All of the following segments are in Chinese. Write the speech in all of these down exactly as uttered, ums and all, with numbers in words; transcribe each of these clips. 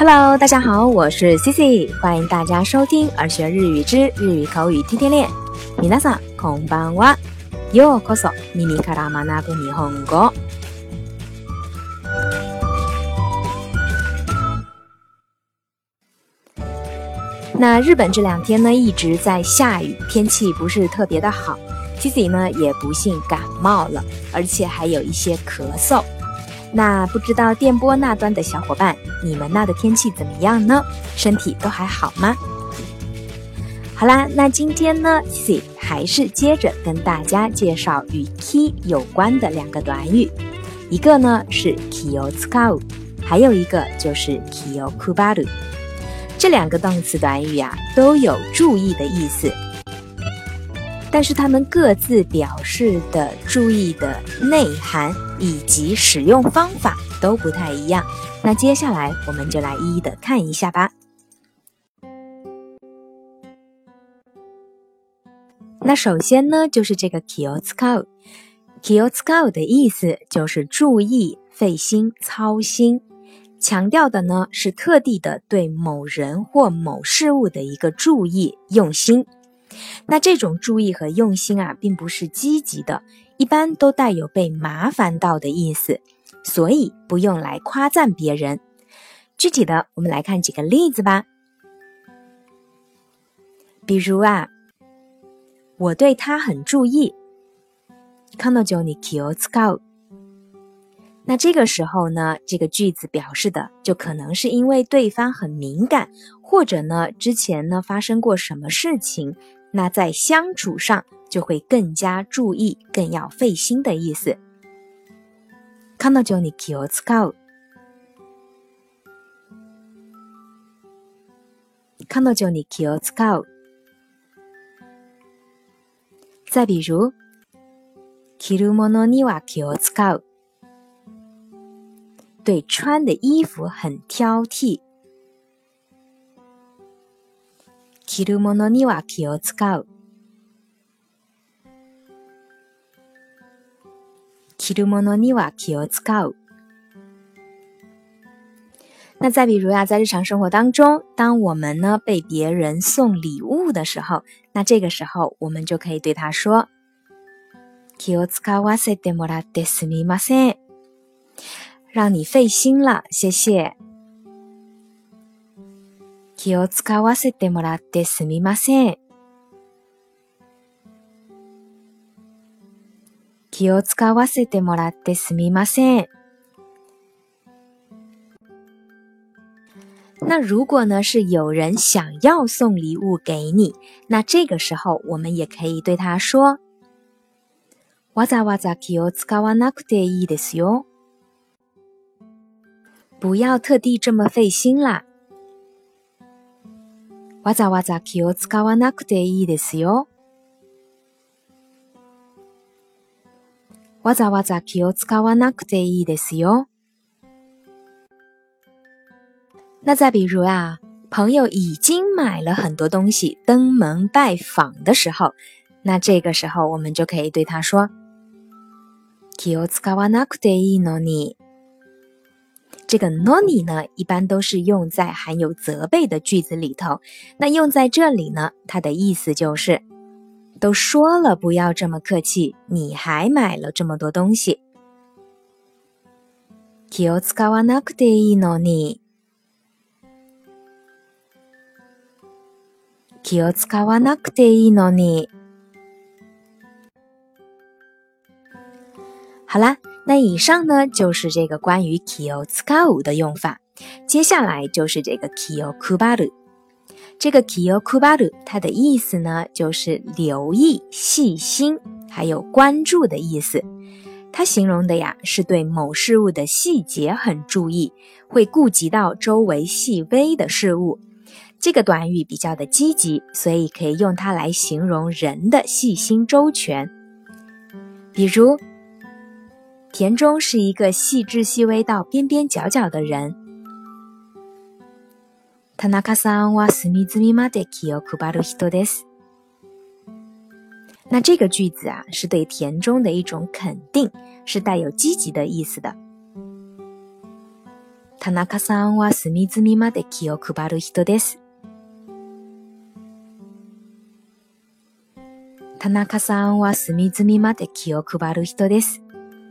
Hello， 大家好，我是 Cici， 欢迎大家收听儿学日语之日语口语天天练。皆さんこんばんは。ようこそ耳から学ぶ日本語。那日本这两天呢一直在下雨，天气不是特别的好。Cici 呢也不幸感冒了，而且还有一些咳嗽。那不知道电波那端的小伙伴，你们那的天气怎么样呢？身体都还好吗？好啦，那今天呢 Cici 还是接着跟大家介绍与 ki 有关的两个短语，一个呢是 kiを使う，还有一个就是 kiを配る。这两个动词短语啊都有注意的意思，但是它们各自表示的注意的内涵以及使用方法都不太一样。那接下来我们就来一一的看一下吧。那首先呢就是这个 気を使う。気を使う的意思就是注意、费心、操心，强调的呢是特地的对某人或某事物的一个注意、用心。那这种注意和用心啊并不是积极的，一般都带有被麻烦到的意思，所以不用来夸赞别人。具体的我们来看几个例子吧。比如啊，我对他很注意，彼女に気を使う。那这个时候呢，这个句子表示的就可能是因为对方很敏感，或者呢之前呢发生过什么事情，那在相处上就会更加注意，更要费心的意思。彼女に気を使う。彼女に気を使う。再比如、着るものには気を使う。对穿的衣服很挑剔。着るものには気を使う。着るものには気を使う。那再比如呀，在日常生活当中，当我们呢被别人送礼物的时候，那这个时候我们就可以对他说，気を使わせてもらってすみません。让你费心了，谢谢。気を使わせてもらってすみません。気を使わせてもらってすみません。那如果呢是有人想要送礼物给你，那这个时候我们也可以对他说，わざわざ気を使わなくていいですよ。不要特地这么费心啦。わざわざ気を使わなくていいですよ。わざわざ気を使わなくていいですよ。那再比如啊，朋友已经买了很多东西，登门拜访的时候，那这个时候我们就可以对他说，気を使わなくていいのに。这个 noni 呢一般都是用在含有责备的句子里頭，那用在这里呢，它的意思就是都说了不要这么客气，你还買了这么多东西。気を使わなくていいのに。気を使わなくていいのに。好啦，那以上呢就是这个关于気を使う的用法，接下来就是这个気を配る。这个気を配る它的意思呢就是留意、细心还有关注的意思。它形容的呀是对某事物的细节很注意，会顾及到周围细微的事物。这个短语比较的积极，所以可以用它来形容人的细心周全。比如田中是一个细致细微到边边角角的人。田中さんは隅々まで気を配る人です。那这个句子啊，是对田中的一种肯定，是带有积极的意思的。 田中さんは隅々まで気を配る人です。田中さんは隅々まで気を配る人です。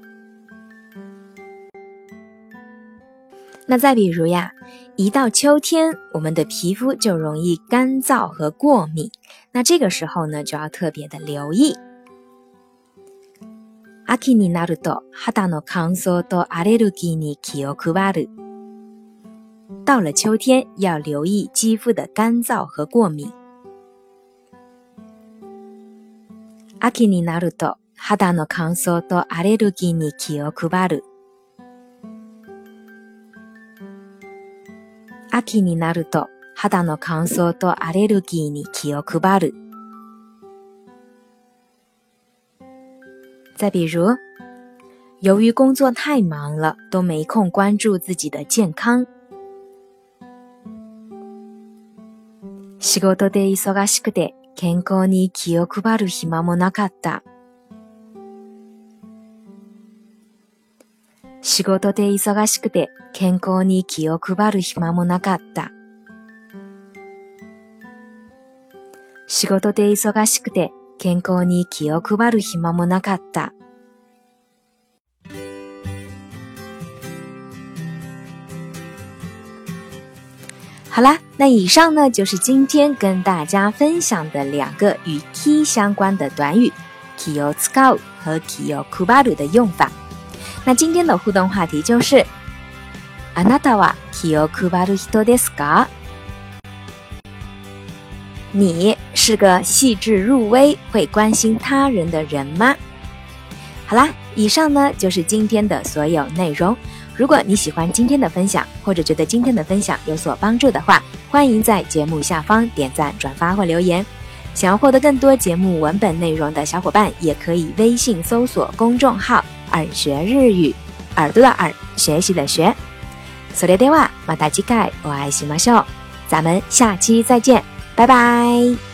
那再比如呀，一到秋天，我们的皮肤就容易干燥和过敏，那这个时候呢，就要特别的留意。秋になると肌の乾燥とアレルギーに気を配る。到了秋天，要留意肌肤的干燥和过敏。秋になると肌の乾燥とアレルギーに気を配る。秋になると肌の乾燥とアレルギーに気を配る。再比如，由于工作太忙了，都没空关注自己的健康。仕事で忙しくて健康に気を配る暇もなかった。仕事で忙しくて健康に気を配る暇もなかった。仕事で忙しくて健康に気を配る暇もなかった。好啦，那以上呢就是今天跟大家分享的两个与 ki 相关的短语 気を使う和気を配る的用法。那今天的互动话题就是あなたは気を配る人ですか？你是个细致入微会关心他人的人吗？好啦，以上呢就是今天的所有内容。如果你喜欢今天的分享，或者觉得今天的分享有所帮助的话，欢迎在节目下方点赞、转发或留言。想要获得更多节目文本内容的小伙伴，也可以微信搜索公众号耳学日语，耳朵的耳，学习的学。それではまた次回お会いしましょう。咱们下期再见，拜拜。